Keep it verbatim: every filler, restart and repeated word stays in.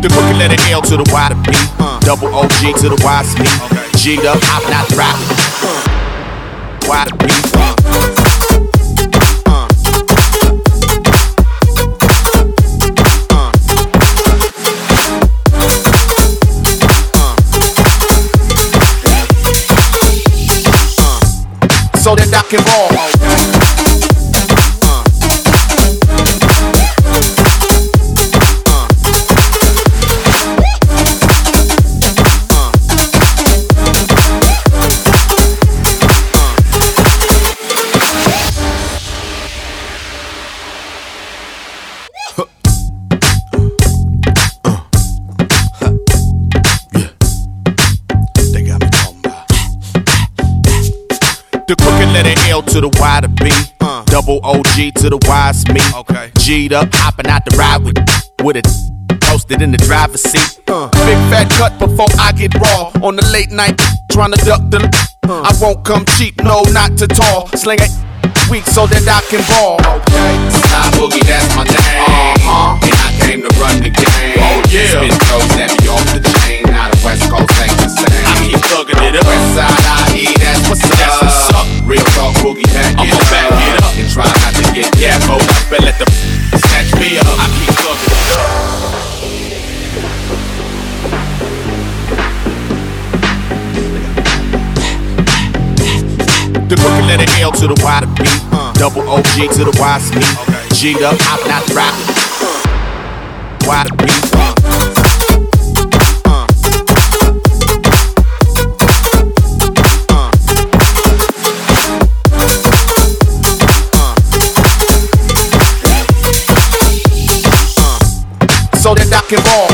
The crooked letter L to the Y to B. Uh. Double O G to the Y to me. Okay. G'd up, I'm not the rap. Uh. Y to B. Uh. Uh. Uh. Uh. So that I can ball. The crooked letter L to the Y to B. Uh. Double O G to the Y's me. Okay. G'd up, hopping out the ride with with it posted in the driver's seat. Uh. Big fat cut before I get raw. On the late night, trying to duck the. Uh. I won't come cheap, no, not too tall. Sling it weak so that I can ball. Okay. Sly Boogie, that's my name. Uh-huh. And I came to run the game. Oh yeah. Spin throws that be off the chain. Now the West Coast ain't the same. I keep thugging it up. West side I E, that's what's up. That's what's up. Real talk Boogie, back I'm it gon' up. back it up. And try not to get careful. But let the snatch me up. I keep thugging it up. The crooked letter L to the Y to B. Uh. Double O G to the Y to me. Okay. G'd up, hopping out the rap. Uh. Y to B. Uh. Uh. Uh. Uh. So that I can ball.